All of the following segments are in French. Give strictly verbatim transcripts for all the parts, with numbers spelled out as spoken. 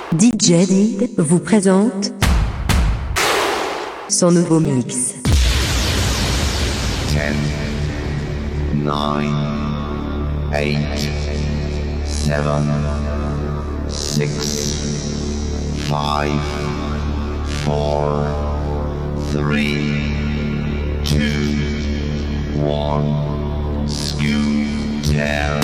D J Did vous présente son nouveau mix. ten, nine, eight, seven, six, five, four, three, two, one, scoot down.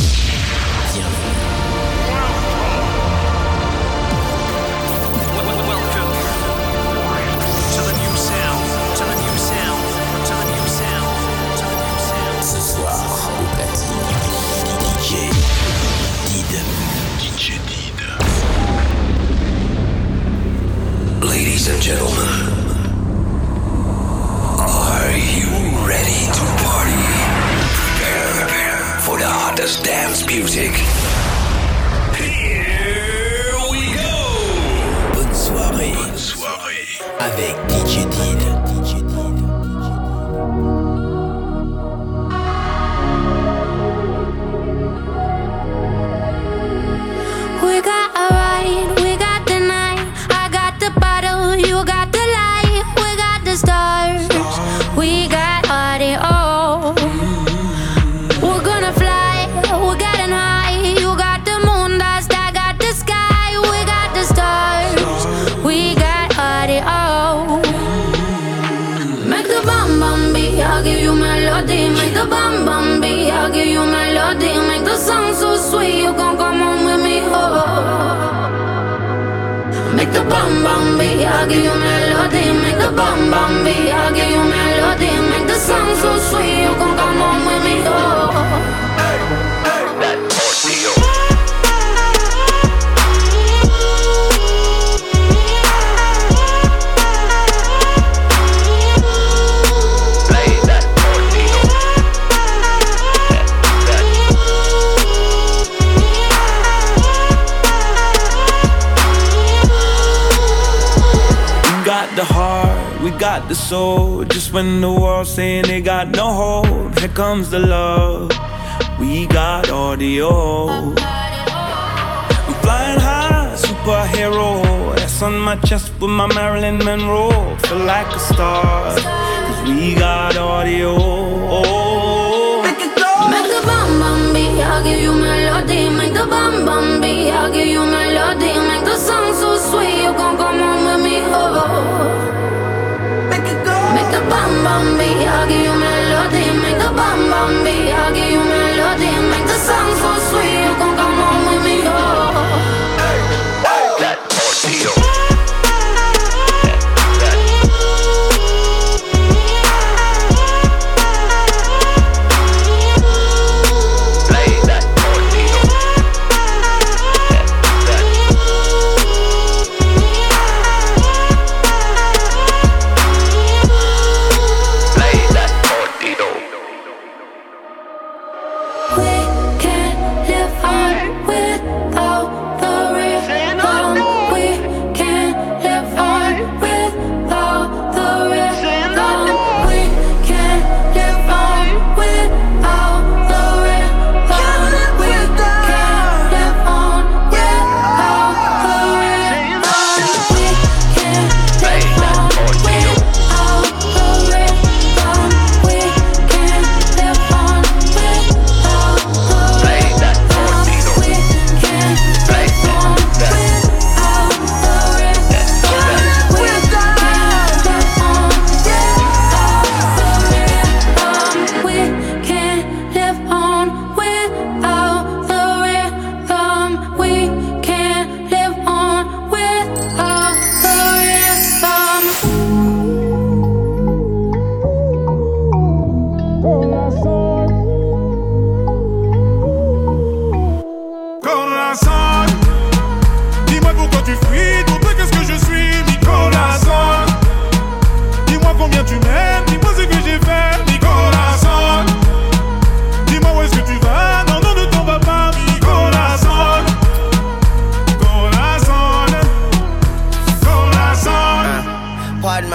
Ladies and gentlemen, are you ready to party? Prepare for the hottest dance music. Here we go! Bonne soirée, Bonne soirée avec D J Did. We got a ride, we got the night. I got the bottle, you got the light. We got the stars, we got audio. We're gonna fly, we're getting high. You got the moon dust, I got the sky. We got the stars, we got audio. Make the bum bum beat, I'll give you melody. Make the bum bum beat, I'll give you melody. Make the song so sweet, you gon' come on with me. Make the bum bum beat, I'll give you melody. Make the bum bum beat, I'll give you melody. Make the song so sweet, you gon' come on with me. Oh. Hey, hey, that ordeal. The heart, we got the soul. Just when the world's saying they got no hope, here comes the love. We got audio. I'm flying high, superhero. S on my chest with my Marilyn Monroe. Feel like a star, cause we got audio. Make it go. Make the bum bum beat, I'll give you melody. Make the bum bum beat, I'll give you melody. Make the song so sweet, you gon' come on with me. Oh. Make the bum bum beat, I'll give you melody. Make the bum bum beat, I'll give you melody. Make the song so sweet, you gon' come on with me. Oh. Hey, hey, that ordeal.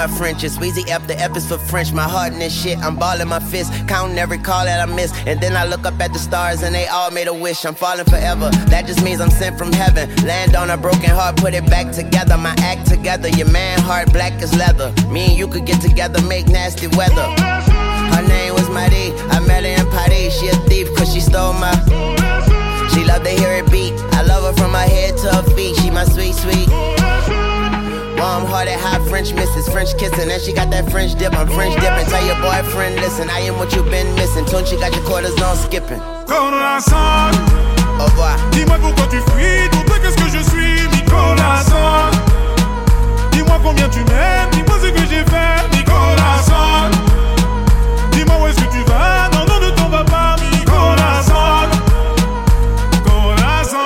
my French. It's Weezy F, the F is for French. My heart in this shit, I'm balling my fist, counting every call that I miss. And then I look up at the stars and they all made a wish. I'm falling forever, that just means I'm sent from heaven. Land on a broken heart, put it back together. My act together, your man heart black as leather. Me and you could get together, make nasty weather. Her name was Marie, I met her in Paris. She a thief cause she stole my. She love to hear it beat, I love her from her head to her feet. She my sweet, sweet warm-hearted, hot French missus, French kissing, and she got that French dip. I'm French dipping. Tell your boyfriend, listen, I am what you been missing. Tune, she got your quarters on skipping. Corazon, au revoir. Dis-moi pourquoi tu fuis, pour toi qu'est-ce que je suis, mi corazon. Dis-moi combien tu m'aimes, dis-moi ce que j'ai fait, mi corazon. Dis-moi où est-ce que tu vas, non, non, ne t'en vas pas, mi corazon. Corazon,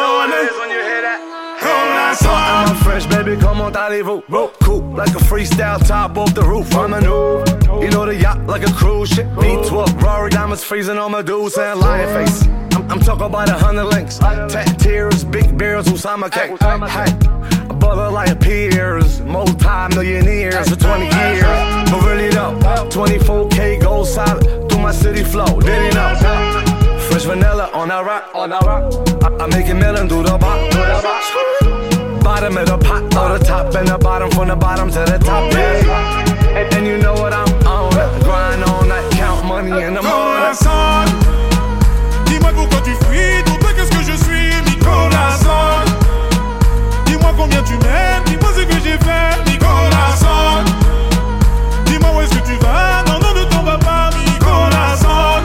corazon. I'm French, baby, comment allez-vous? Cool, like a freestyle top off the roof. I'm a new, you know the yacht like a cruise ship. V twelve, Rory diamonds freezing on my dudes and lion face. I'm, I'm talking about a hundred links, tat tears, big bears, Usama cake. Hey, a brother like peers, multi-millionaires for twenty years. But really though, twenty-four K gold solid through my city flow. Did he know? Fresh vanilla on that rock, on that rock. I, I make it melon through the bottom. Bottom of the pot, or the top and the bottom, from the bottom to the top, yeah. And, and you know what I'm on, grind all night, count money in the morning. Corazon, dis-moi pourquoi tu fuis, pour toi qu'est-ce que je suis, mi corazon. Dis-moi combien tu m'aimes, dis-moi ce que j'ai fait, mi corazon. Dis-moi où est-ce que tu vas, non, non, ne t'en vas pas, mi corazon.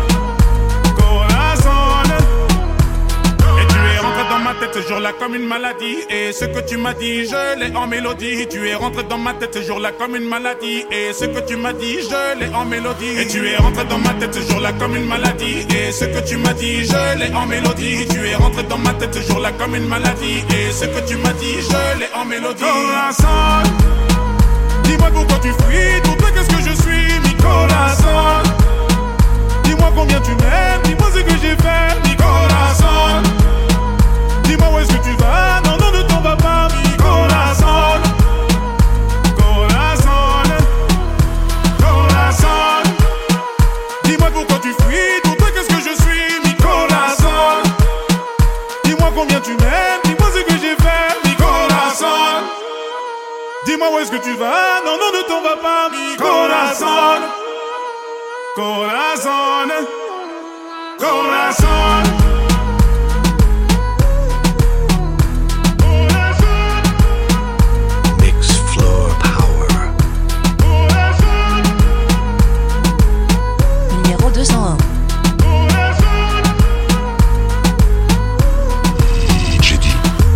Corazon. Et tu es rentré dans ma tête ce jour-là comme une maladie. Et ce que tu m'as dit, je l'ai en mélodie. Tu es rentré dans ma tête ce jour-là comme une maladie. Et ce que tu m'as dit, je l'ai en mélodie. Et tu es rentré dans ma tête ce jour-là comme une maladie. Et ce que tu m'as dit, je l'ai en mélodie. Tu es rentré dans ma tête ce jour-là comme une maladie. Et ce que tu m'as dit, je l'ai en mélodie. Corazon, dis-moi pourquoi tu fuis, pour toi qu'est-ce que je suis, mi corazon. Dis-moi combien tu m'aimes, dis-moi ce que j'ai fait, mi corazon. Dis-moi où est-ce que tu vas, non, non, ne t'en vas pas, mi corazon. Corazon, corazon. Dis-moi pourquoi tu fuis, pour toi qu'est-ce que je suis, mi corazon. Dis-moi combien tu m'aimes, dis-moi ce que j'ai fait, mi corazon. Dis-moi où est-ce que tu vas, non, non, ne t'en vas pas, mi corazon. Corazon, corazon. Numéro deux cent un. Jeudi.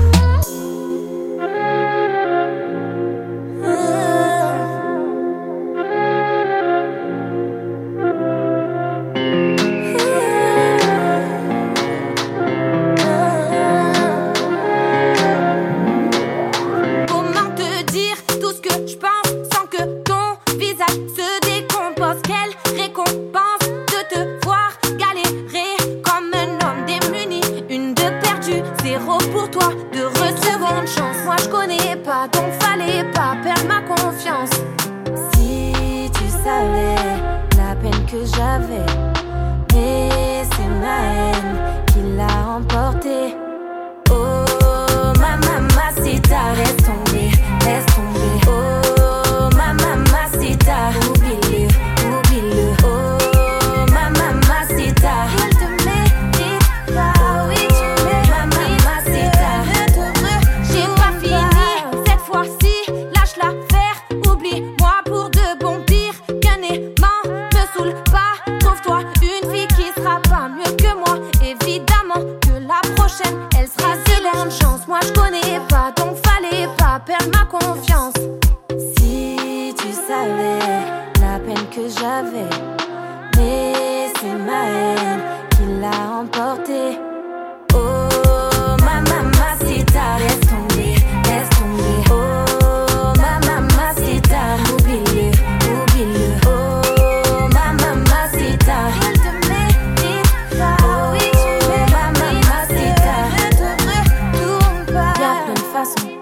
Comment te dire tout ce que je pense sans que ton visage se décompose? Quelle récompense de te voir galérer comme un homme démuni. Une de perdue, zéro pour toi, de recevoir une chance. Moi je connais pas, donc fallait pas perdre ma confiance. Si tu savais la peine que j'avais, mais c'est ma haine qui l'a emporté. Oh ma mamacita, laisse tomber, laisse tomber. Oh ma mamacita, oublie-le, oublie-le. Oh ma mamacita, il te mérite pas. Oh oui tu mérites ma mamacita. J'ai pas fini cette fois-ci, lâche l'affaire, oublie-moi pour de bon. Pire qu'un aimant, me saoule pas. Trouve-toi une fille qui sera pas mieux que moi. Évidemment que la prochaine, elle sera zéro de chance. Moi je connais pas, donc fallait pas perdre ma confiance. Si tu savais la peine que j'avais, mais c'est ma haine qui l'a emporté. Oh ma mamacita, laisse tomber, laisse tomber. Oh ma mamacita, oublie-le, oublie-le. Oh ma mamacita, il te mérite pas. Oh oui tu mérites ma mamacita. Ne te retourne pas. Y'a plein de façons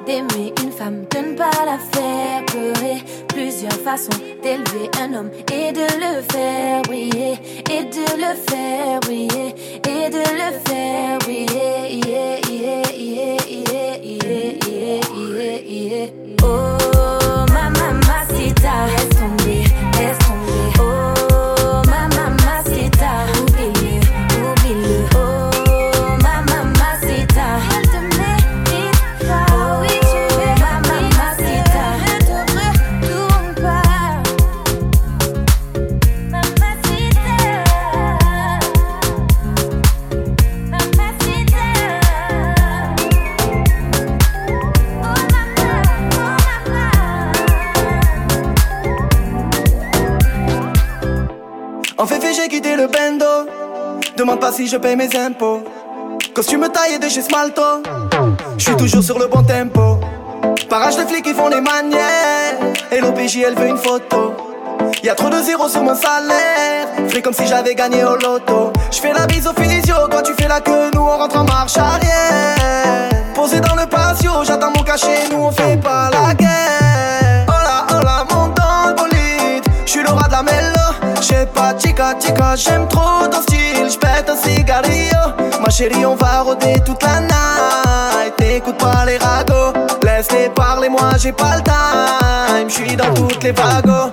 d'aimer une femme, de ne pas la faire pleurer. Plusieurs façons d'élever un homme et de le faire briller, et de le faire briller, et de le faire briller. Yeah, yeah, yeah, yeah, yeah, yeah, yeah, yeah. Oh, ma mamacita, laisse tomber, laisse tomber. Oh, ma mamacita, oublie-le, oublie-le. Oh, ma mamacita, elle te mérite pas. Oh oui, tu es ma mamacita, ne te retourne pas. Mamacita, mamacita. Oh mama, oh mama. En fait, j'ai quitté le bendo. Demande pas si je paye mes impôts. Costume taillé de chez Smalto. J'suis toujours sur le bon tempo. Parage de flics qui font des manières. Et l'O P J elle veut une photo. Y'a trop de zéros sur mon salaire. Fais comme si j'avais gagné au loto. J'fais la bise au physio, toi tu fais la queue, nous on rentre en marche arrière. Posé dans le patio, j'attends mon cachet, nous on fait pas la guerre. Hola, hola, monte dans le bolide. J'suis le roi de la mélo. J'sais pas, chica, chica, j'aime trop ton style. J'pète un cigarillo. Ma chérie, on va rôder toute la night. T'écoutes pas les ragots. Laisse-les parler, moi j'ai pas le time. J'suis dans toutes les vagos.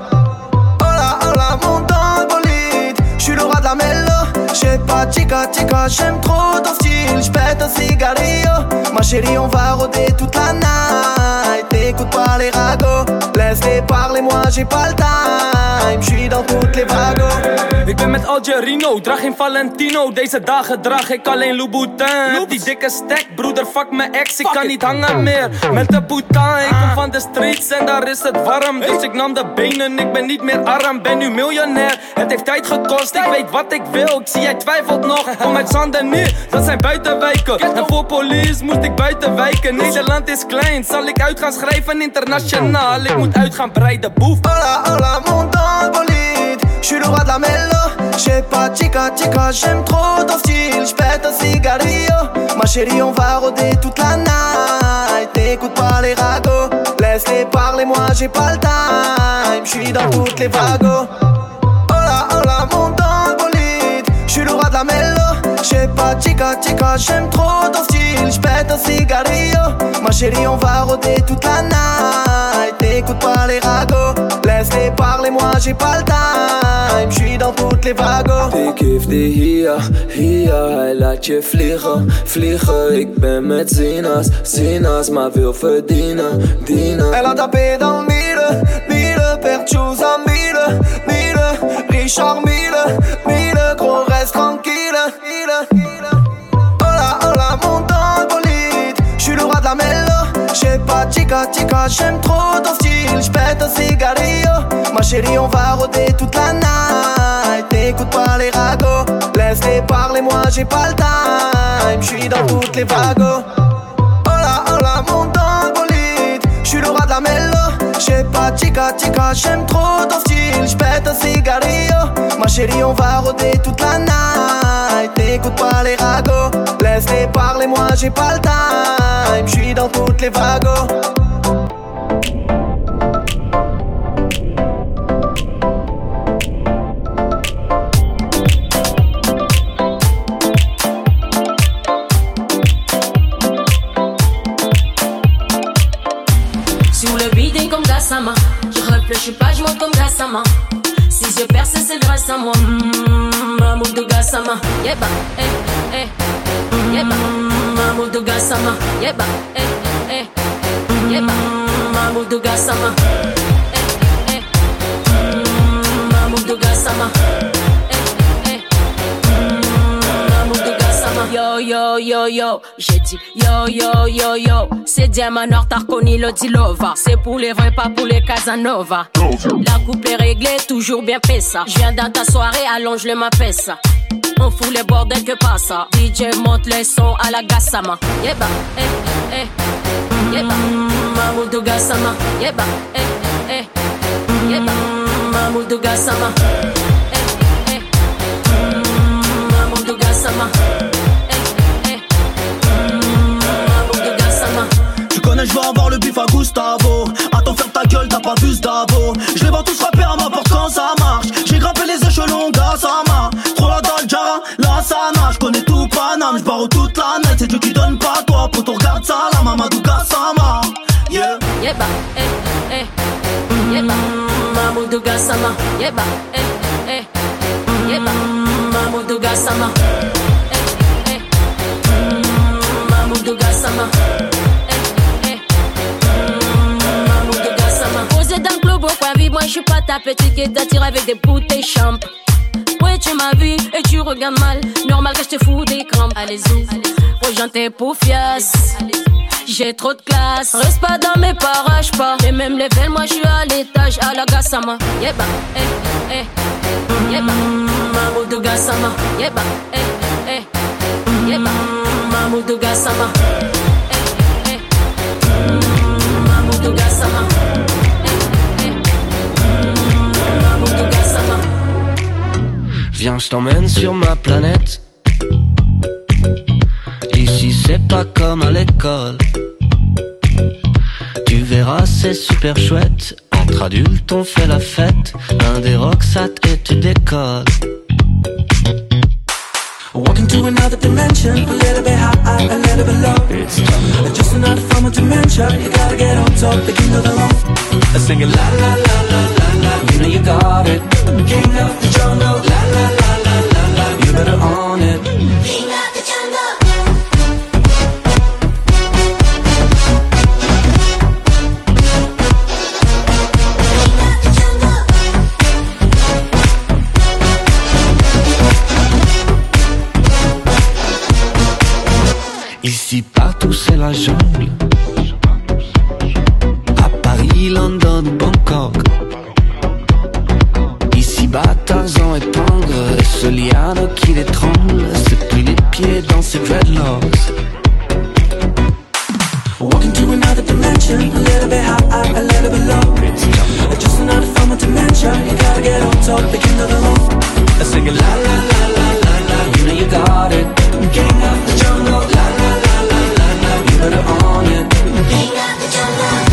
Hola, hola, monte dans le bolide. J'suis le roi de la mélo. J'sais pas, chica, chica, j'aime trop ton style. J'pète un cigarillo. Ma chérie, on va rôder toute la night. T'écoutes pas les ragots. Laisse-les parler, moi j'ai pas le time. J'suis dans toutes les vagos. Ik ben met Algerino, draag geen Valentino. Deze dagen draag ik alleen Louboutin. Heb die dikke stack, broeder, fuck mijn ex. Ik kan niet hangen meer met de Boutin. Ik kom van de streets en daar is het warm. Dus ik nam de benen, ik ben niet meer arm. Ben nu miljonair, het heeft tijd gekost. Ik weet wat ik wil, ik zie jij twijfelt nog. Kom uit Zanden nu, dat zijn buitenwijken. En voor police moest ik buiten wijken. Nederland is klein, zal ik uit gaan schrijven internationaal. Ik moet uit gaan breiden, boef. Hola, hola, monte dans le bolide. J'suis le roi de la mélo. J'sais pas, chica, chica, j'aime trop ton style. J'pète un cigarillo. Ma chérie, on va rôder toute la night. T'écoutes pas les ragots. Laisse-les parler, moi j'ai pas le time. J'suis dans toutes les vagos. Hola, hola, monte dans le bolide. J'suis le roi de la mélo. J'sais pas, chica, chica, j'aime trop ton style. J'pète un cigarillo. Ma chérie, on va rôder toute la night. T'écoutes pas les ragots. Laisse-les parler, moi j'ai pas le time. J'suis dans toutes les vagos. Ik geef die hier, hier, hij laat je vliegen, vliegen. Ik ben met Zina's, Zina's, maar wil verdienen, dienen. Elle a tapé dans mille, mille, perchous à mille, mille, Richard mille, mille, gros reste tranquille, mille. Hola, hola, monte dans le bolide. J'suis le roi de la mélo. J'sais pas, chica, chica, j'aime trop ton style. J'pète un cigarillo. Ma chérie, on va rôder toute la night. T'écoutes pas les ragots. Laisse-les parler, moi j'ai pas le time. J'suis dans toutes les vagos. Hola, hola, monte dans le bolide. J'suis le roi de la mélo. J'sais pas, chica, chica, j'aime trop ton style. J'pète un cigarillo. Ma chérie, on va rôder toute la night. T'écoutes pas les ragots. Laisse-les parler, moi j'ai pas le time. J'suis dans toutes les vagos. Sur le bidon comme Gassama. Je réfléchis pas, je monte comme Gassama. Si je perce, c'est grâce à moi. Mmh, Mahmoud de Gassama. Yeba, eh, eh. Yeba, Mahmoud de Gassama. Yeba, eh, eh. Yeba, Mahmoud de Gassama. Eh, eh. Mahmoud de Gassama. Yo yo yo yo, j'ai dit yo yo yo yo. C'est Diamant Noir, t'as reconnu le Dilova. C'est pour les vrais, pas pour les Casanova. La coupe est réglée, toujours bien pessa. Je viens dans ta soirée, allonge le ma pesa. On fout les bordels que passe. D J monte les sons à la Gassama. Yeba, eh, eh. Yeba, Mahmoud de Gassama. Yeba, eh, eh. Yeba, Mahmoud de Gassama. Eh, eh. Mahmoud de Gassama. Je connais, je veux avoir salama, Maduga sama. Yeah. Yeba, eh, eh. Yeba, Mamuduga sama. Yeba, eh, eh. Yeba, Mamuduga sama. Eh, eh. Mamuduga sama. Eh, eh. Mamuduga sama. Posé dans le globo, quoi, vie, moi je suis pas ta petite qui t'attire avec des bouteilles champ. Ouais, tu m'as vu et tu regardes mal. Normal que je te fous des crampes. Allez-y, ouais, j'en t'ai poufias. J'ai trop de classe. Reste pas dans mes parages, pas. Et même les veines, moi je suis à l'étage. À la Gassama. Yeba, eh, eh. Yeba, Mamuduga sama. Yeba, eh, eh. Yeba, Mamuduga sama. Eh, eh. Mamuduga sama. Eh, eh. Mamuduga sama. Viens, je t'emmène sur ma planète. Ici c'est pas comme à l'école. Tu verras c'est super chouette. Entre adultes on fait la fête. Un des rocksat et tu décolles. Walking to another dimension, a little bit high, a little bit low. It's just another form of dementia. You gotta get on top, the king of the law. Singing la la la la la la. You know you got it. King of the jungle. La la la la la la. You better own it. King of the jungle. Ici partout c'est la jungle. À Paris, London, Bangkok. Ici bas Tarzan et Pangre. Et ce liano qui l'étrangle. C'est plus les pieds dans ses dreadlocks. Walking to another dimension, a little bit high, a little bit low. Just another form of dementia. You gotta get on top, the king of the law. Singing la la la la la la. You know you got it. King of the jungle. La la la la la la. You better own it. King of the jungle.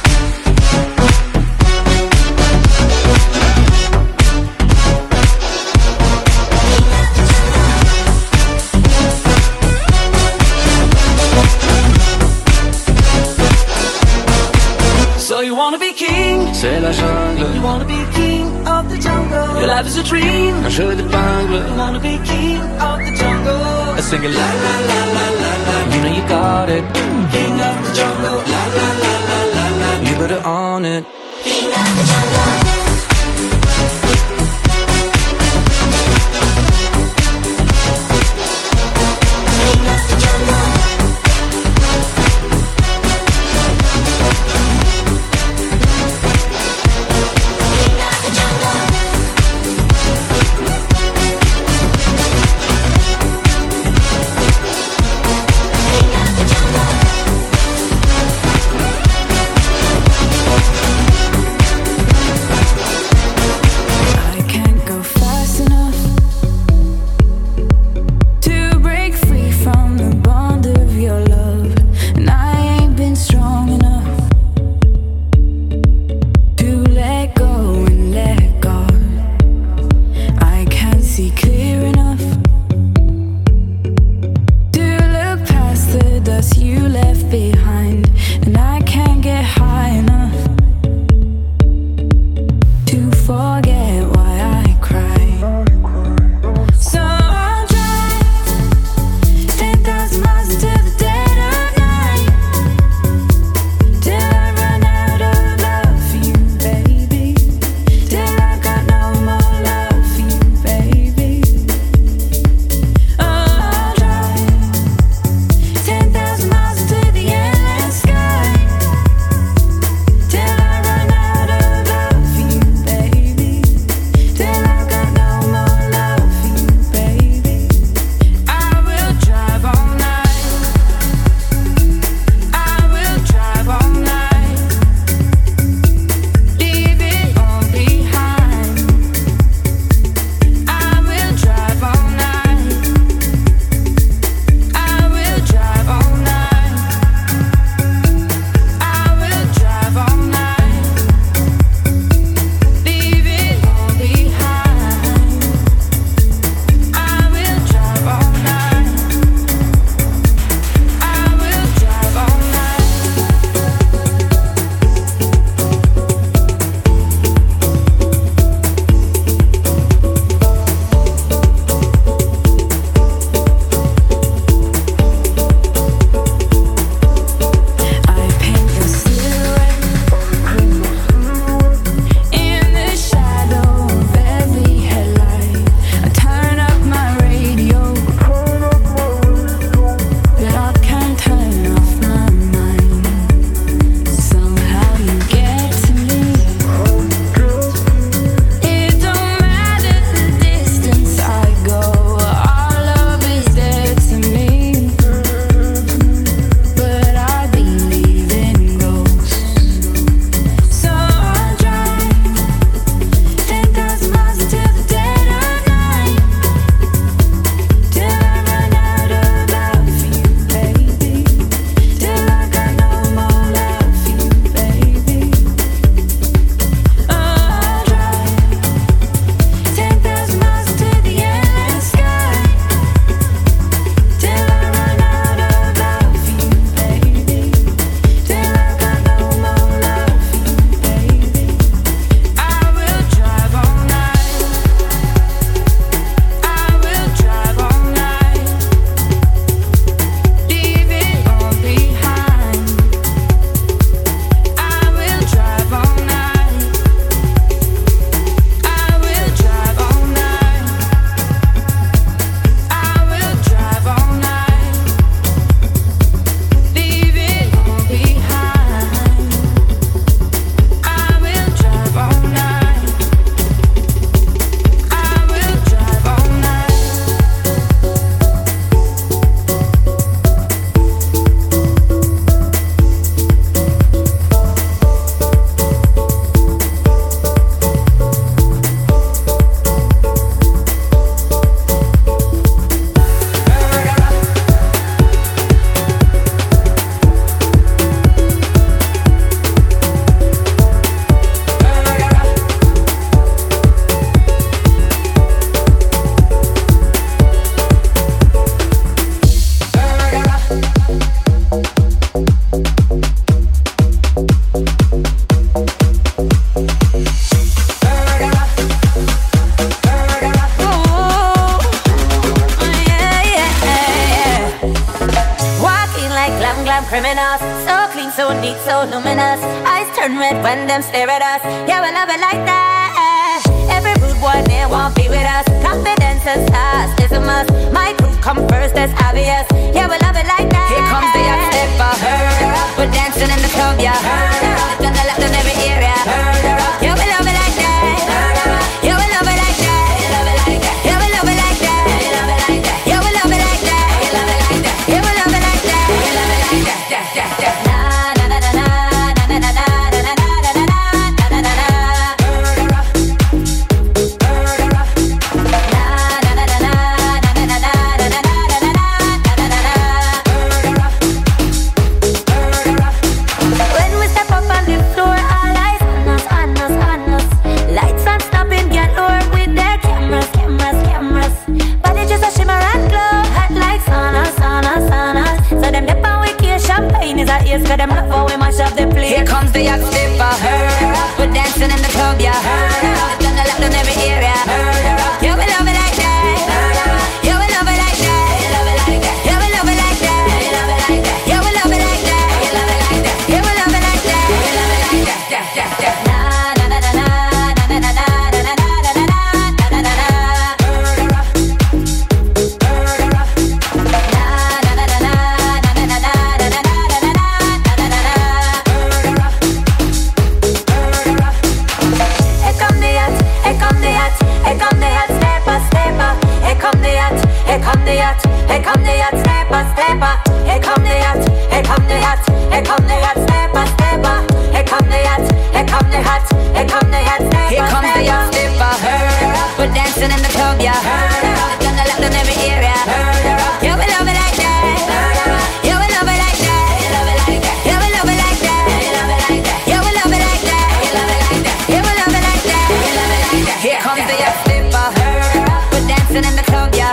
So you wanna be king? C'est la jungle. You wanna be king of the jungle. Your life is a dream. Un jeu d'épingle. You wanna be king of the jungle. Singing la la la la la la. You know you got it. King of the jungle. La la la la la la. You better own it. King of the jungle. clean, so neat, so luminous. Eyes turn red when them stare at us. Yeah, we love it like that. Every rude boy there won't be with us. Confidence and stars is a must. My crew come first, that's obvious. Yeah, we love it like that. Here comes the young stepper. We're dancing in the club, yeah. Done the left in every area. Yeah, we love it like that. Yeah, we love it like that. Yeah, we love it like that. Yeah, we love it like that. Yeah, we love it like that. Na na na na na na na na na na na Yes, cause them love how we mash up the place. Here comes the yacht stepper. We're dancing in the club, yeah. Done the left in every area. Yeah, we love it like that. Yeah, we love it like that. Yeah, we love it like that. Yeah, we love it like that. Yeah, we love it like that. Na na na na na na na na na na na na. Here come the yacht, here come the yacht, stepper, stepper. Here come the yacht, here come the yacht, here come the yacht, stepper, stepper. Here come the yacht, here come the yacht, here come the yacht, stepper. Here comes the yacht, stepper. We're dancing in the club, yeah. Done the left in every area. Yeah, we love it like that. Yeah, we love it like that. Yeah, we love it like that. Yeah, we love it like that. Yeah, we love it like that. Here comes the yacht, stepper. We're dancing in the club, yeah.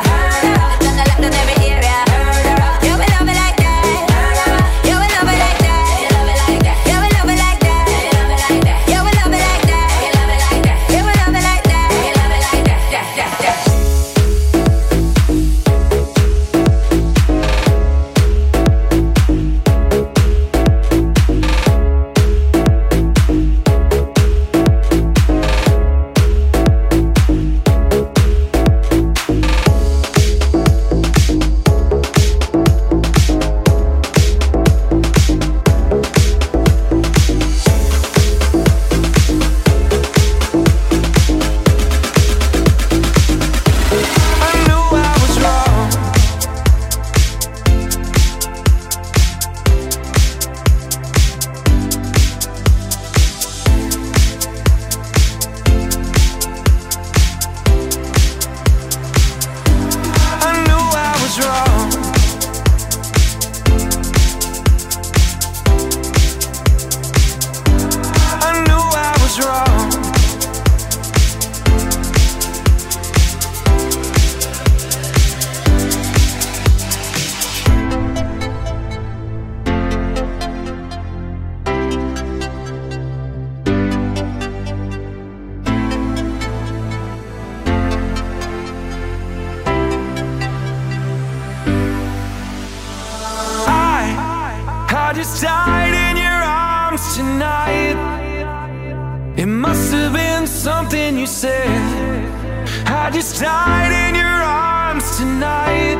just died in your arms tonight. It must have been something you said. I just died in your arms tonight.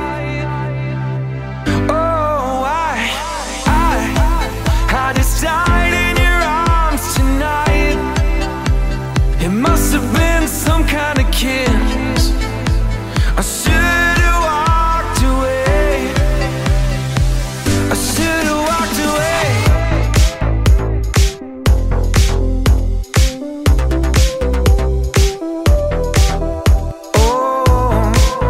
Oh, I, I, I just died in your arms tonight. It must have been some kind of kiss. I should have walked away. I should have walked away. Oh,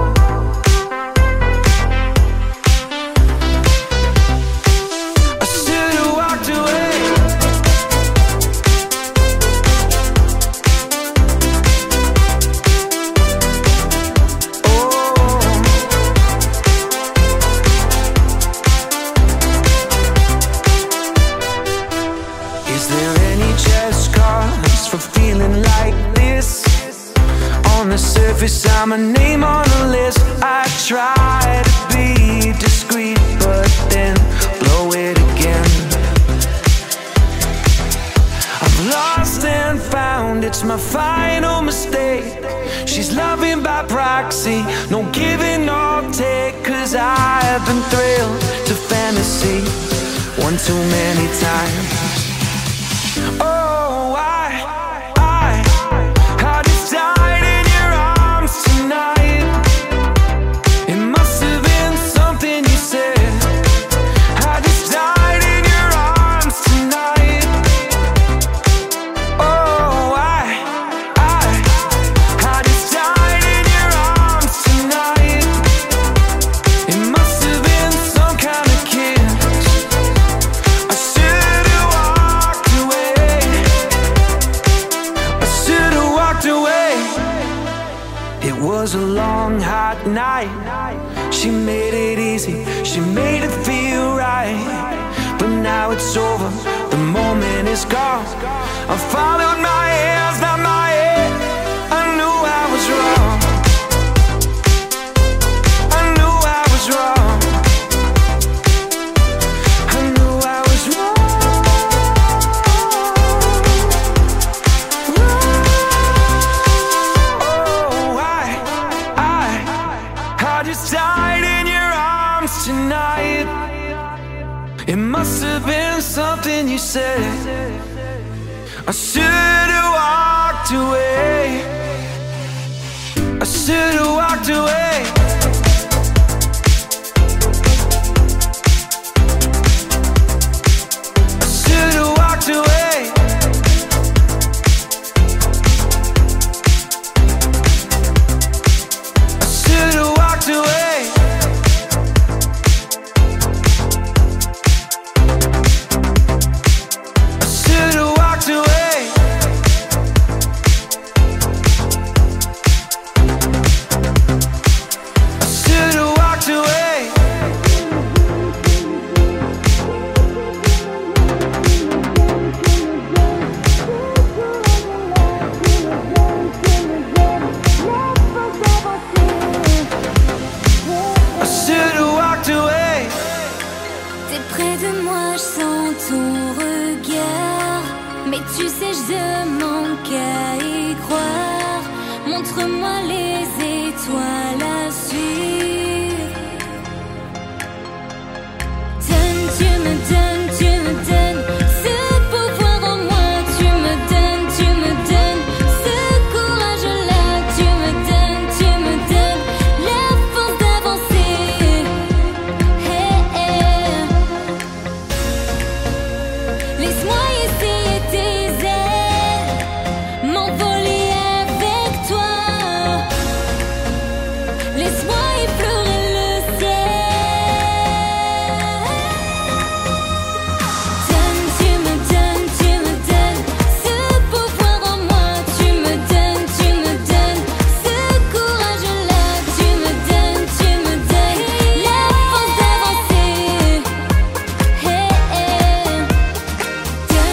I should have walked away. Is there any just cause for feeling like this? On the surface, I'm a name on a list. I try to be discreet, but then blow it again. it's my final mistake. She's loving by proxy, no giving or take. Cause I have been thrilled to fantasy one too many times. Oh, I, I, I just died in your arms tonight. It must have been something you said. I just died in your arms tonight. Oh, I, I, I just died in your arms tonight. It must have been some kind of kiss. I should have walked away. I should have walked away. It was a long, hot night. She made it easy, she made it feel right. But now it's over, the moment is gone. I followed my hands, not my head. I knew I was wrong. I knew I was wrong. I knew I was wrong. Oh, I, I, I just died in your arms tonight. It must have been something you said. I should have walked away. I should have walked away. I should have walked away. I should have walked away. I should have walked away. I should have walked away. I should have walked away. T'es près de moi, je sens ton regard. Mais tu sais, je manque à y croire. Montre-moi les étoiles à suivre. Donne, tu me donnes, tu me donnes ce pouvoir en moi. Tu me donnes, tu me donnes ce courage-là. Tu me donnes, tu me donnes la force d'avancer. Hey, hey. Laisse-moi essayer tes ailes, m'envoler avec toi. Laisse-moi effleurer le ciel. Donne, tu me donnes, tu me donnes ce pouvoir en moi. Tu me donnes, tu me donnes ce courage-là. Tu me donnes, tu me donnes la force d'avancer. Hey, hey. Donne,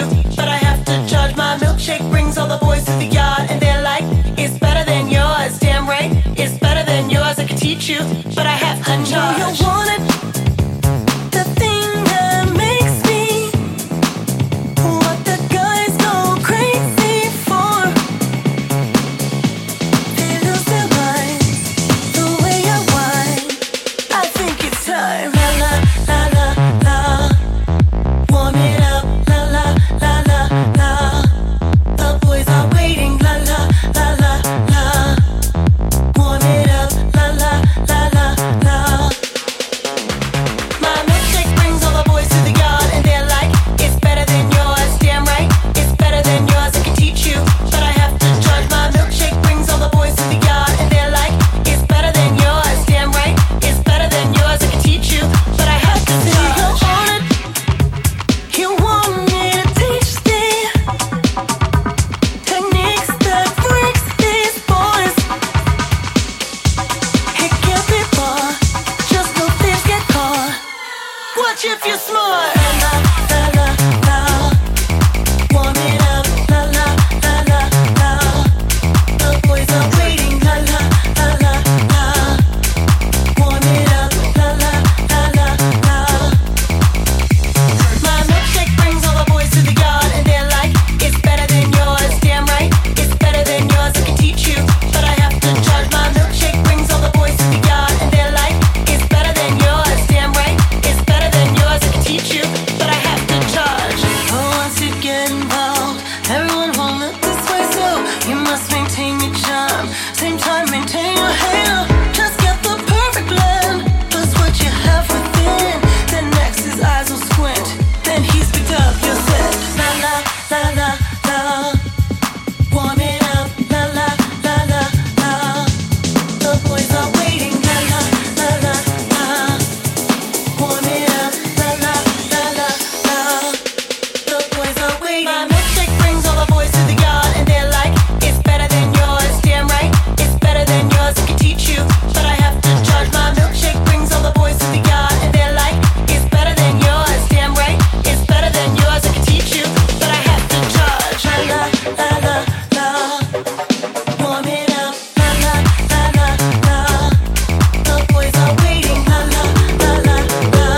but I have to judge. My milkshake brings all the boys to the yard, and they're like, it's better than yours. Damn right, it's better than yours. I could teach you, but I have to charge. You want it? The thing that makes me what the guys go crazy for. They lose their minds the way I whine. I think it's time. La la la la la. Warm it up. La la la la la. The boys are waiting. La la la la la. Warm it up. La la la la la. My milkshake brings all the boys to the yard, and they're like, it's better than yours. Damn right, it's better than yours. I can teach you, but I have to judge. My milkshake brings all the boys to the yard, and they're like, it's better than yours. Damn right, it's better than yours. I can teach you, but I have to judge. You want it? You want me to teach the techniques that breaks these boys. It can't be far, just no thieves get caught. Watch if you're smart. La la la la. Warm it up. La la la la la. The boys are waiting. La la la la la. Warm it up. La la la la la. My milkshake brings all the boys to the yard, and they're like, it's better than yours. Damn right, it's better than yours. I can teach you, but I have to judge. My milkshake brings all the boys to the yard, and they're like, it's better than yours. Damn right, it's better than yours. I can teach you, but I have to judge. Oh, once you get involved, everyone won't look this way, so you must maintain your charm. Same time, maintain your hair. Just get the perfect blend. Plus what you have within. Then next his eyes will squint. Then he's picked up your scent. La la la la la. Warm it up. La la la la la. The boys are waiting. La la la la la. Warm it up. La la la la la. The boys are waiting. My milkshake brings all the boys to the yard, and they're like, it's better than yours. Damn right, it's better than yours. I can teach you, but I have to judge. My milkshake brings all the boys to the yard, and they're like, it's better than yours. Damn right, it's better than yours. I can teach you, but I have to judge. La la la la la. Warm it up. La la la la la. The boys are waiting. La la la la la.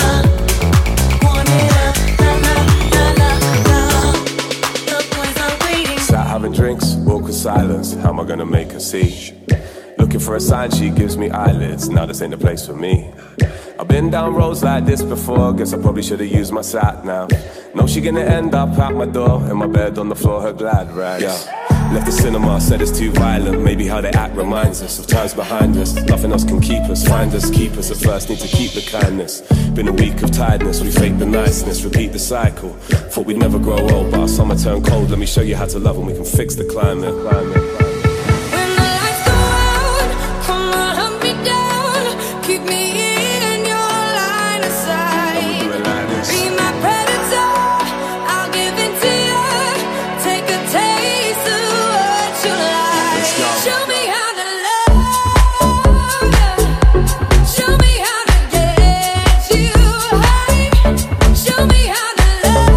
Warm it up. La la la la la. The boys are waiting. Sat having drinks, walk with silence. How am I gonna make her see? Looking for a sign, she gives me eyelids. Now this ain't the place for me. I've been down roads like this before. Guess I probably should've used my sat nav. No, she gonna end up out my door, in my bed on the floor, her glad rags. Yeah. Left the cinema, said it's too violent. Maybe how they act reminds us of times behind us. Nothing else can keep us, find us, keep us. At first need to keep the kindness. Been a week of tiredness, we fake the niceness, repeat the cycle. Thought we'd never grow old, but our summer turned cold. Let me show you how to love and we can fix the climate, climate, climate. When the lights go out, come on, hunt me down. Keep me in your line of sight. Be my predator, I'll give in to you. Take a taste of what you like. Show me how to love you. Show me how to get you high. Show me how to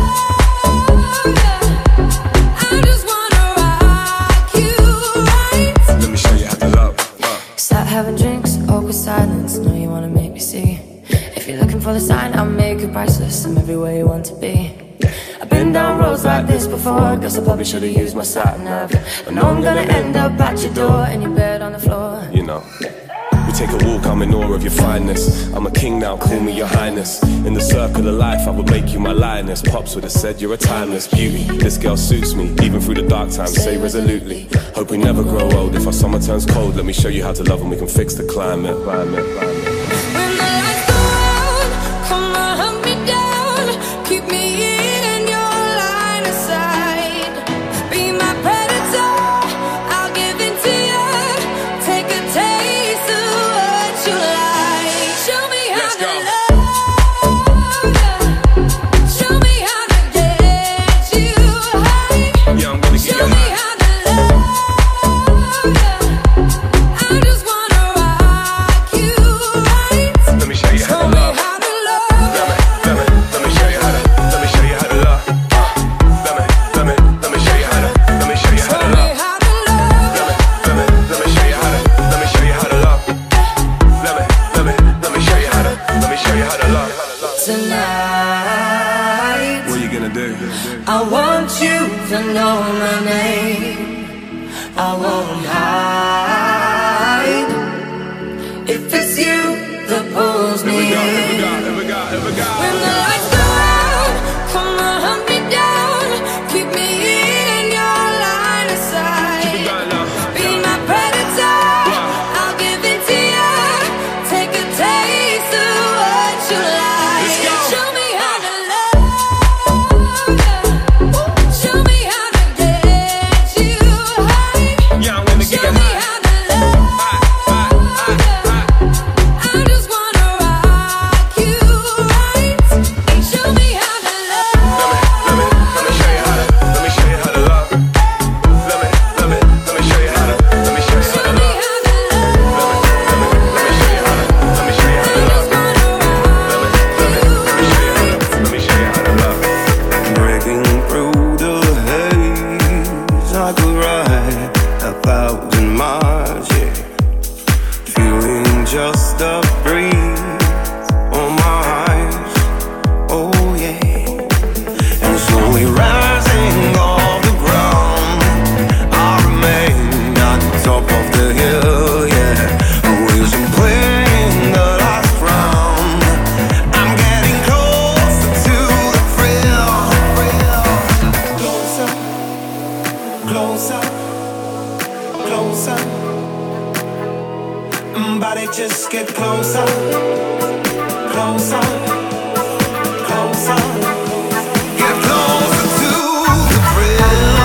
love you. I just wanna rock you right. Let me show you how to love. Uh. Start having drinks, awkward silence. Know you wanna make me see. If you're looking for the sign, I'll make it priceless. I'm everywhere you want to be. I've been down roads like this before. Guess I probably should've used my sat nav. But now I'm gonna end up at your door, in your bed on the floor. You know, we take a walk, I'm in awe of your fineness. I'm a king now, call me your highness. In the circle of life, I would make you my lioness. Pops would have said you're a timeless beauty. This girl suits me, even through the dark times, say resolutely. Hope we never grow old. If our summer turns cold, let me show you how to love and we can fix the climate, climate, climate. When the lights go out, come on, hunt me down. Keep me in your line of sight. Be my predator, I'll give in to you. Take a taste of what you like. Show me how Let's to go. love you. Show me how to get you high. Yeah, I'm gonna get Show you me high. how to love you. I just wanna rock you I want you to know my name. I won't hide. If it's you that pulls me in. When the lights go out, come on, hunt me down. Keep me in your line of sight. Be my predator, I'll give it to you. Take a taste of what you like. Show me how to love you. Show me how to get you high. Show me how to love you. I just wanna rock you right. Show me how to love. Let me, let me show you how to, let me show you how to love. Let me, let me, let me show you how to, let me show you how to love. Let me, let me, let me show you how to, let me show you how to love. Let me, let me, let me show you how to, let me show you how to love. Breaking through the haze, I could ride a thousand miles, yeah. Feeling just a breeze on my eyes, oh yeah. And slowly rising off the ground, I remain at the top of the hill, yeah. Losing playing the last round. I'm getting closer to the thrill. Closer, closer, closer. Mm, Body just get closer, closer, closer. Get closer to the thrill.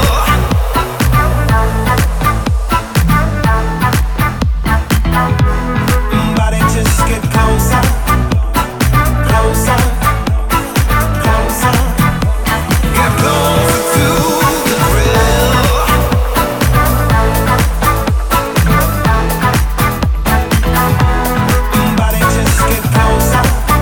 Mm, Body just get closer, closer, closer. Get closer to the thrill. Mm, Body just get closer.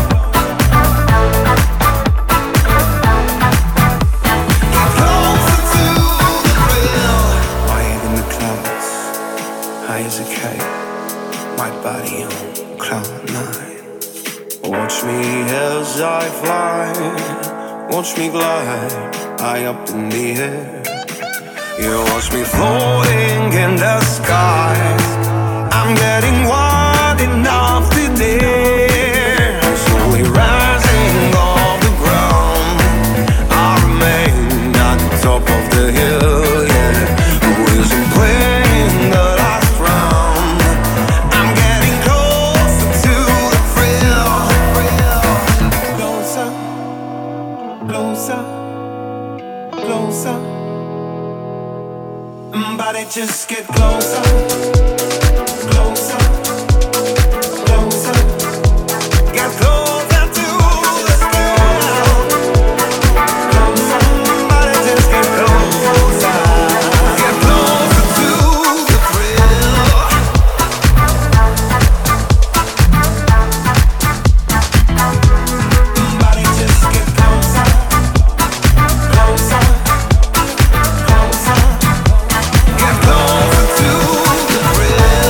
Get closer to the thrill. Higher than the clouds, high as a kite. My body on cloud nine. Watch me as I fly. Watch me glide high up in the air. You watch me floating in the sky. I'm getting wide enough to dare. Slowly rising off the ground. I remain at the top of the hill, yeah. Wheels and playing the last round. I'm getting closer to the thrill. Closer, closer, closer. Mm, Body just get closer, closer, closer. Get closer to the thrill. Closer, body just get closer. Get closer to the thrill. Body just get closer, closer, closer. Get closer to the thrill.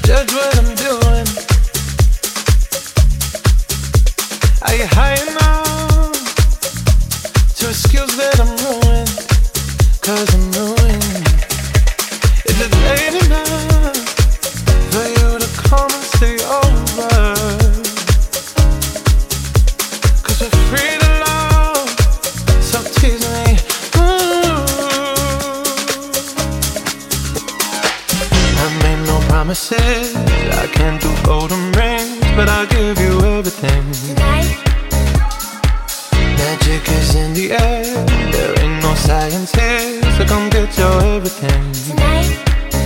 Judge what I'm doing. Are you high enough to excuse that I'm ruined? Cause I'm ruined. Is it late enough for you to come and stay over? Cause we're free to love, so tease me. Ooh. I made no promises, I can't do golden rings, but I'll give you everything. Tonight. Magic is in the air, there ain't no science here, so come get your everything. Tonight.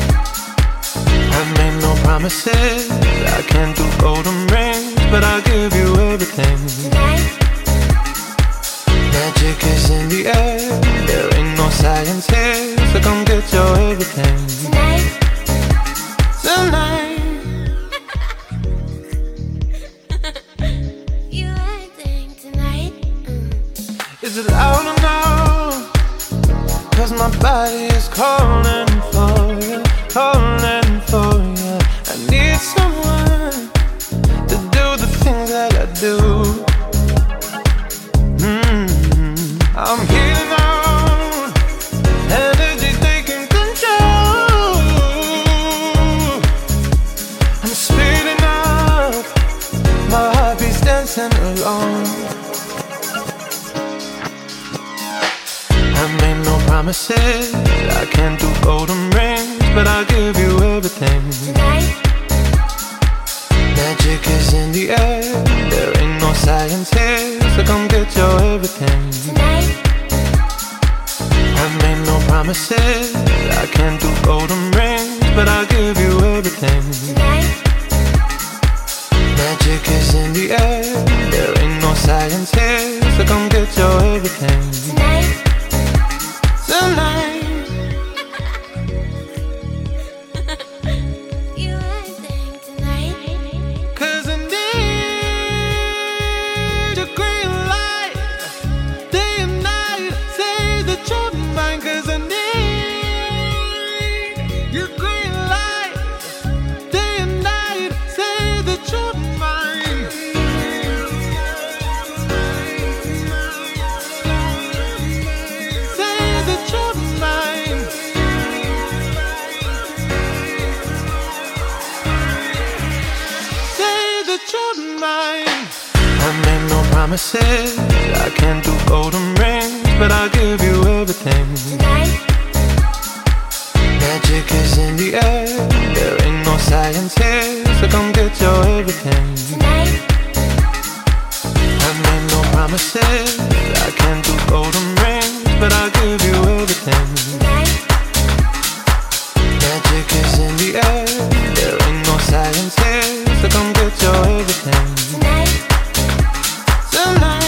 I made no promises, I can't do golden rings, but I'll give you everything. Tonight. Magic is in the air, there ain't no science here, so come get your everything. Tonight. Tonight. You acting tonight. Mm. Is it loud or no? Cause my body is calling for you, calling for you. I need someone to do the things that I do. Mm-hmm. I'm here now, energy taking control. I'm speeding up, my heartbeat's dancing along. I made no promises, I can't do golden rings, but I'll give you everything. Tonight. Magic is in the air, there ain't no science here, so come get your everything. Tonight. I made no promises, I can't do golden rings, but I'll give you everything. Tonight. Magic is in the air, there ain't no science here, so come get your everything. Tonight. Tonight. You acting tonight. Cause I need your green light, day and night, say that you're mine. Cause I need your green light, day and night, say that you're mine. Say that you're mine. Say that you're mine. I made no promises, I can't do golden rings, but I'll give you everything. Tonight. Magic is in the air, there ain't no science here, so come get your everything. Tonight. I made no promises, I can't do golden rings, but I'll give you everything. Tonight. Magic is in the air, there ain't no science here, so come get your everything. Tonight. Tonight.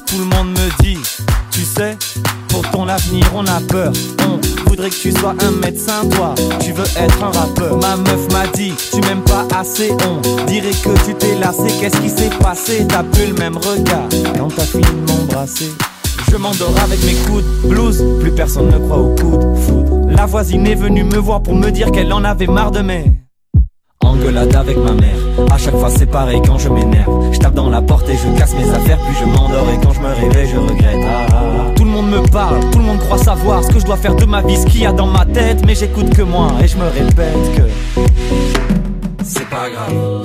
Tout le monde me dit, tu sais, pour ton avenir on a peur. On voudrait que tu sois un médecin, toi, tu veux être un rappeur. Ma meuf m'a dit, tu m'aimes pas assez. On dirait que tu t'es lassé, qu'est-ce qui s'est passé? T'as plus le même regard quand t'as fini de m'embrasser. Je m'endors avec mes coudes blues, plus personne ne croit au coup de foudre. La voisine est venue me voir pour me dire qu'elle en avait marre de mes engueulade avec ma mère. À chaque fois c'est pareil quand je m'énerve. Je tape dans la porte et je casse mes affaires. Puis je m'endors et quand je me réveille je regrette. ah, ah, ah. Tout le monde me parle, tout le monde croit savoir ce que je dois faire de ma vie, ce qu'il y a dans ma tête. Mais j'écoute que moi et je me répète que c'est pas grave.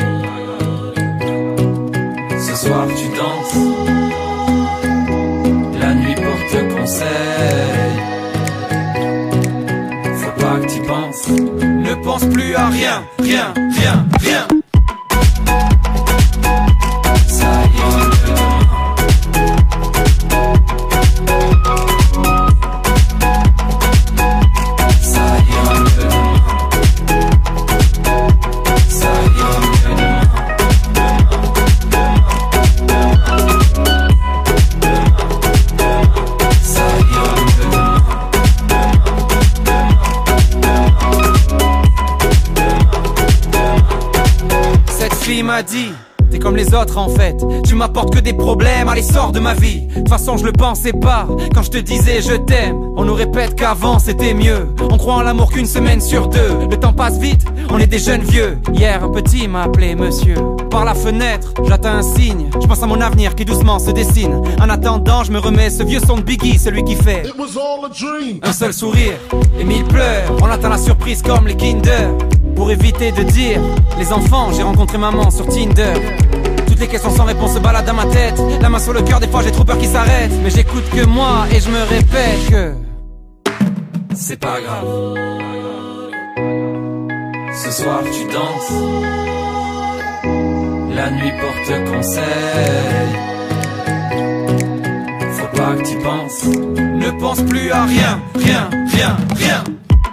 Ce soir tu danses, la nuit porte conseil. Faut pas que t'y penses, ne pense plus à rien, rien, rien, rien. Ça ira mieux demain. Ça ira mieux demain. Ça ira mieux demain. Ça ira mieux demain. Cette fille m'a dit, t'es comme les autres en fait, tu m'apportes que des problèmes, allez sors de ma vie. De toute façon je le pensais pas, quand je te disais je t'aime. On nous répète qu'avant c'était mieux, on croit en l'amour qu'une semaine sur deux. Le temps passe vite, on est des jeunes vieux. Hier un petit m'a appelé monsieur. Par la fenêtre, j'attends un signe, je pense à mon avenir qui doucement se dessine. En attendant je me remets ce vieux son de Biggie, celui qui fait un seul sourire et mille pleurs. On attend la surprise comme les Kinder. Pour éviter de dire les enfants, j'ai rencontré maman sur Tinder. Toutes les questions sans réponse se baladent dans ma tête. La main sur le cœur, des fois j'ai trop peur qu'ils s'arrêtent. Mais j'écoute que moi et je me répète que c'est pas grave. Ce soir tu danses, la nuit porte conseil. Faut pas que t'y penses, ne pense plus à rien, rien, rien, rien.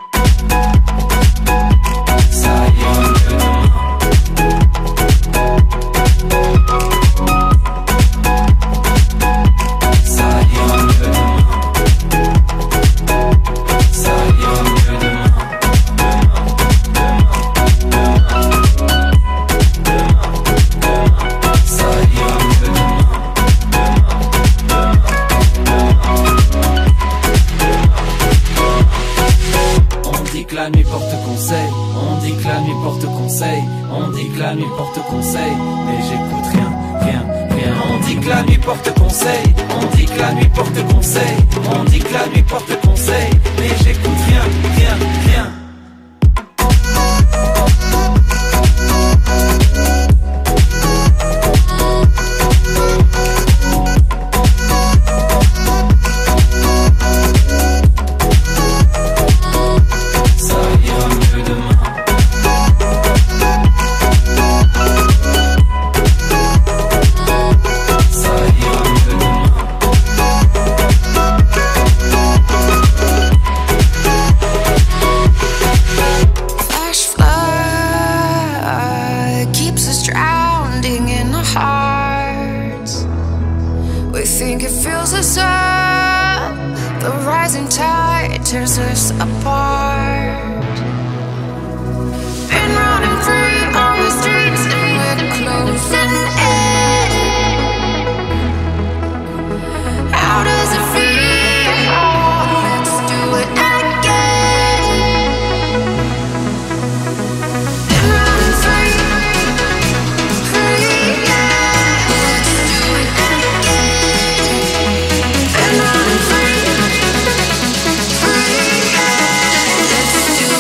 Ça ira mieux demain. Ça ira mieux demain. Ça ira mieux demain. Ça ira mieux demain. On dit que la nuit porte conseil. On dit que la nuit porte conseil. On dit que la nuit porte conseil. Mais j'écoute rien, rien, rien. On dit que la nuit porte conseil. On dit que la nuit porte conseil. On dit que la nuit porte conseil. Mais j'écoute rien, rien, rien. Tears us apart. Been running free on the streets and we're closing in. How does it feel? Oh, let's do it again. Been running free, free, yeah. Let's do it again. Been running free. Let's do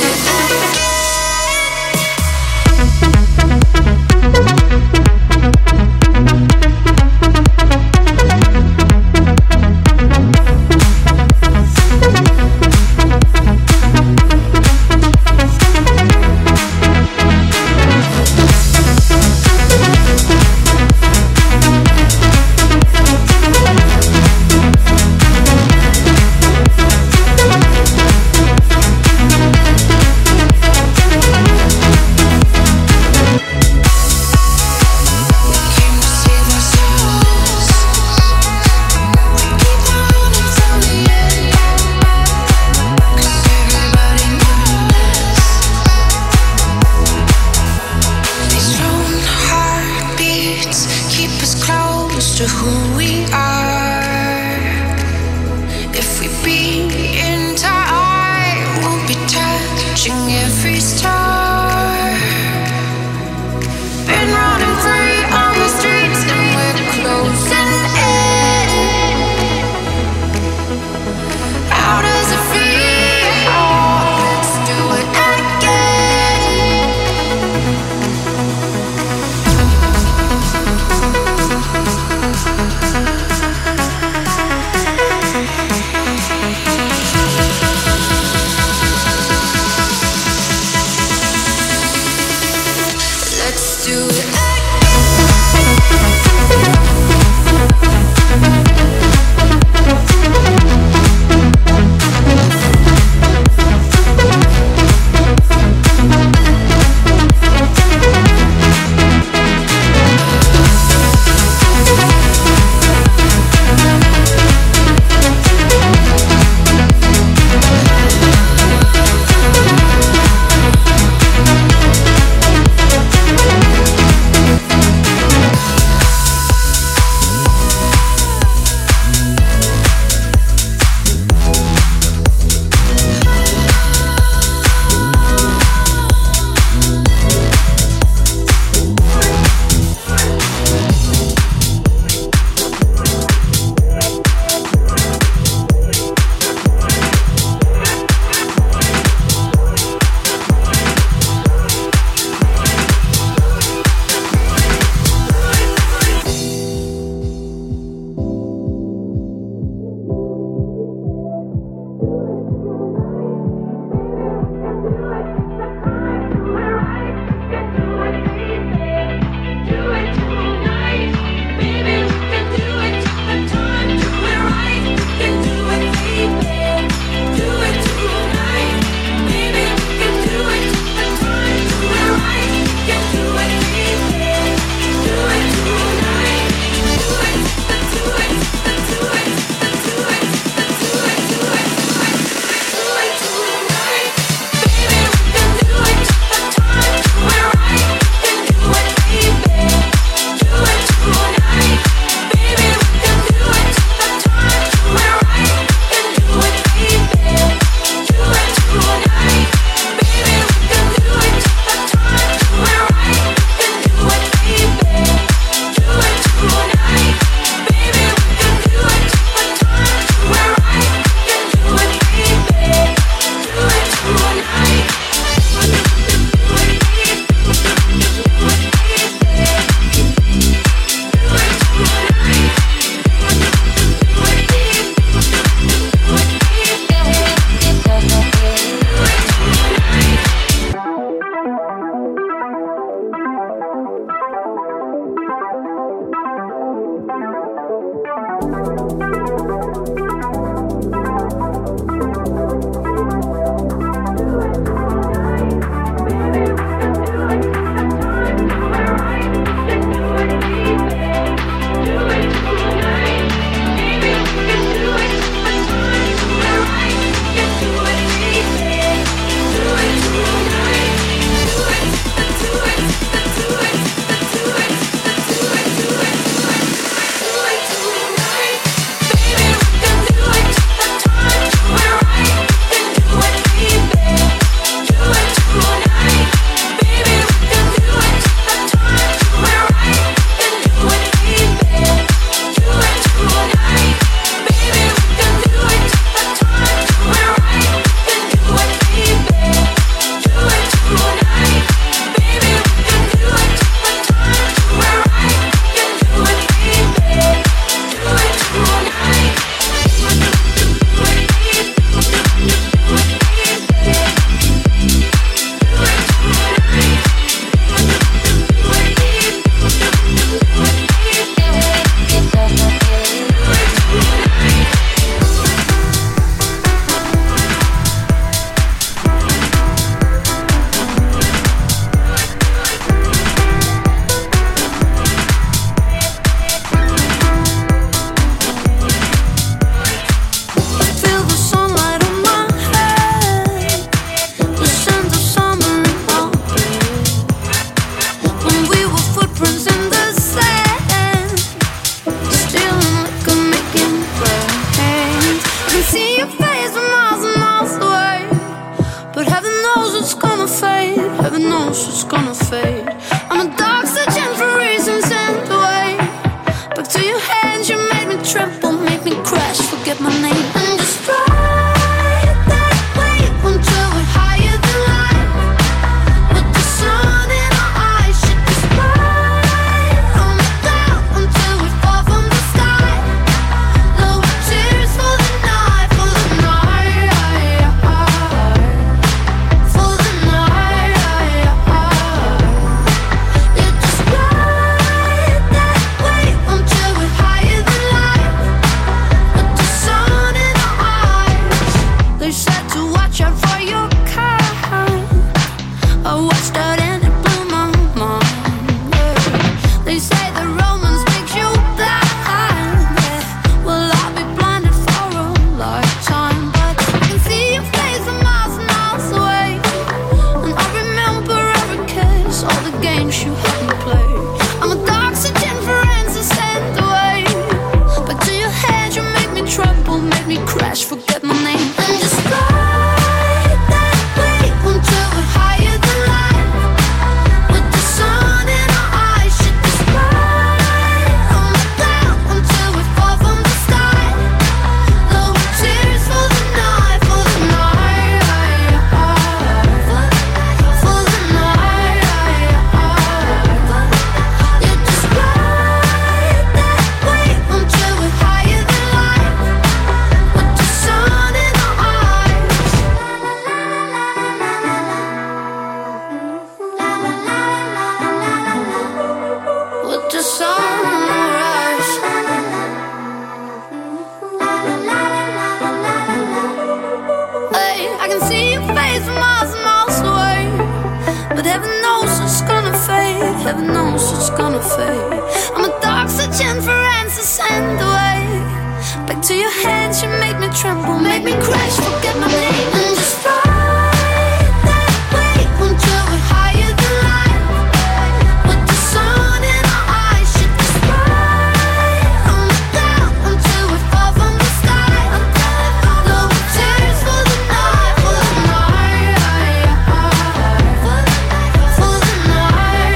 heaven knows it's gonna fade. I'm a dog searching for answers and the way back to your hands, you make me tremble, make me crash, forget my name and just ride that wave until we're higher than life. With the sun in our eyes, should just ride on the ground until we fall from the sky. No tears for the night, for the night, for the night, for the night.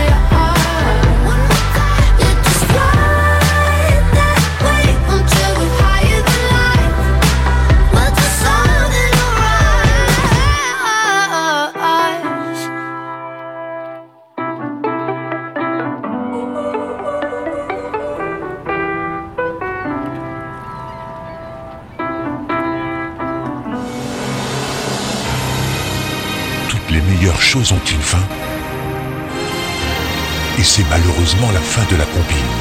Yeah, just ride that wave until we're higher than life. With the sun in our eyes. Toutes les meilleures choses ont une fin. Et c'est malheureusement la fin de la compile.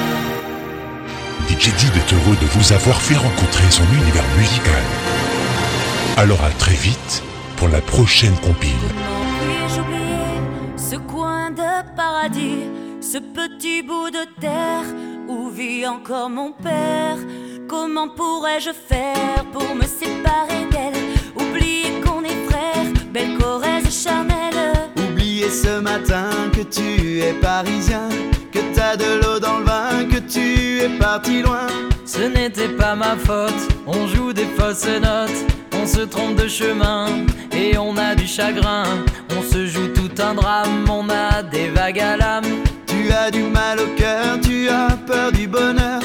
D J Dib est heureux de vous avoir fait rencontrer son univers musical. Alors à très vite pour la prochaine compile. Puis-je oublier ce coin de paradis, ce petit bout de terre où vit encore mon père? Comment pourrais-je faire pour me séparer d'elle? Oublier qu'on est frères, belle Corrèze charnelle. Oublier ce matin que tu es parisien, que t'as de l'eau dans le vin, que tu es parti loin. Ce n'était pas ma faute, on joue des fausses notes, on se trompe de chemin et on a du chagrin. On se joue tout un drame, on a des vagues à l'âme. Tu as du mal au cœur, tu as peur du bonheur.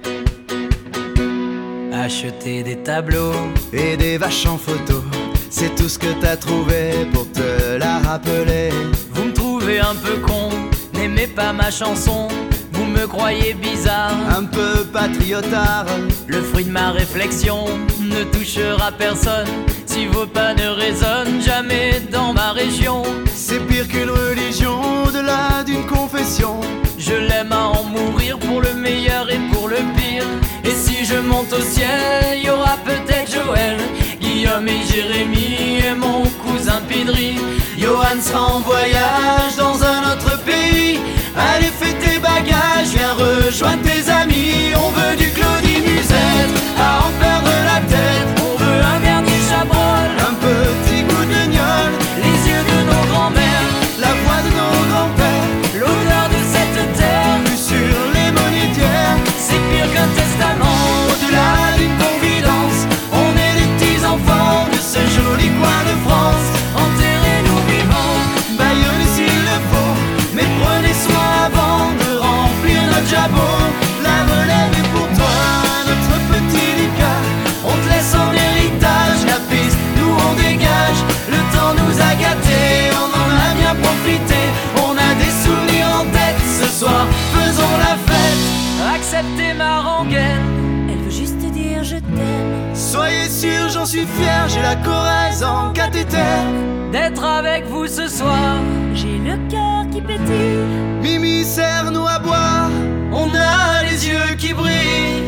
Acheter des tableaux et des vaches en photo, c'est tout ce que t'as trouvé pour te la rappeler. Vous me trouvez un peu con, n'aimez pas ma chanson. Vous me croyez bizarre, un peu patriotard. Le fruit de ma réflexion ne touchera personne si vos pas ne résonnent jamais dans ma région. C'est pire qu'une religion, au-delà d'une confession. Je l'aime à en mourir pour le meilleur et pour le pire. Et si je monte au ciel, y aura peut-être Joël, Guillaume et Jérémy et mon cousin Pidri. Johan sera en voyage dans un autre pays. Allez, fais tes bagages, viens rejoindre tes amis. On veut du Claudie Musette, à en perdre la tête. On veut un dernier chabrol, un petit goût de gnôle, les yeux de nos grands-mères, la voix de nos grands-pères, l'odeur de cette terre, vue sur les monétières. C'est pire qu'un testament, au-delà d'une confidence. On est les petits enfants de ce joli coin de France. Enterrez-nous vivants, baillonnez s'il le faut, mais prenez soin avant de remplir notre jabot. La relève est pour toi, notre petit Lucas. On te laisse en héritage la piste, nous on dégage. Le temps nous a gâtés, on en a bien profité. On a des souvenirs en tête, ce soir faisons la fête. Acceptez ma rengaine, elle veut juste dire je t'aime. Soyez sûr, j'en suis fier, j'ai la Corrèze en cathéter. D'être avec vous ce soir, j'ai le cœur qui pétille. Mimi, serre-nous à boire, on a les yeux qui brillent.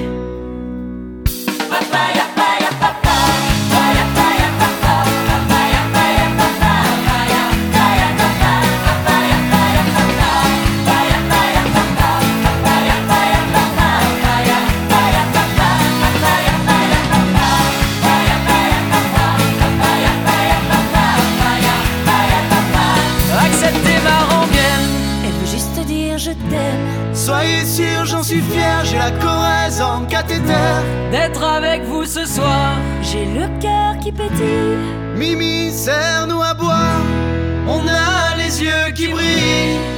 Papaya, papaya, papa, papaya, papaya, papa, papaya, papaya, papa, papaya, papaya, papa, papaya, papaya, papa, papaya, papaya, papa, papaya, papaya, papa, papaya, papaya, papa, papaya, papaya, papa, papaya, papaya, papa, papaya, papaya, papa, papaya, papaya, papa. Acceptez ma rengaine, elle veut juste dire je t'aime. Soyez sûr, j'en suis fier, j'ai la Corrèze en cathéter. D'être avec vous ce soir, j'ai le cœur qui pétille. Mimi, serre-nous à boire, on a les yeux qui brillent.